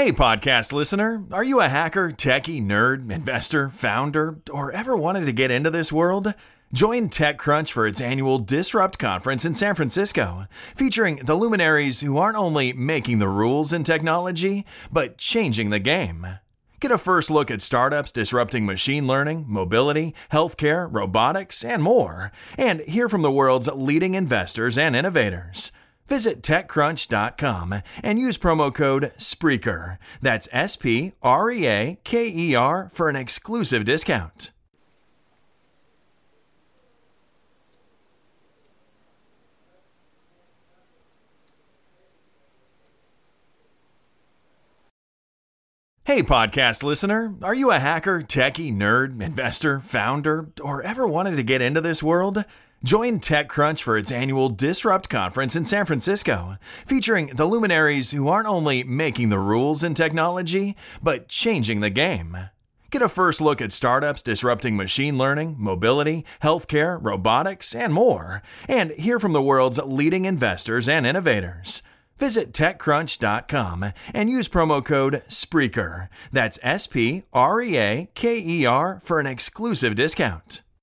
Hey, podcast listener, are you a hacker, techie, nerd, investor, founder, or ever wanted to get into this world? Join TechCrunch for its annual Disrupt conference in San Francisco, featuring the luminaries who aren't only making the rules in technology, but changing the game. Get a first look at startups disrupting machine learning, mobility, healthcare, robotics, and more, and hear from the world's leading investors and innovators. Visit TechCrunch.com and use promo code SPREAKER. That's SPREAKER for an exclusive discount. Hey, podcast listener, are you a hacker, techie, nerd, investor, founder, or ever wanted to get into this world? Join TechCrunch for its annual Disrupt conference in San Francisco, featuring the luminaries who aren't only making the rules in technology, but changing the game. Get a first look at startups disrupting machine learning, mobility, healthcare, robotics, and more, and hear from the world's leading investors and innovators. Visit TechCrunch.com and use promo code SPREAKER. That's SPREAKER for an exclusive discount.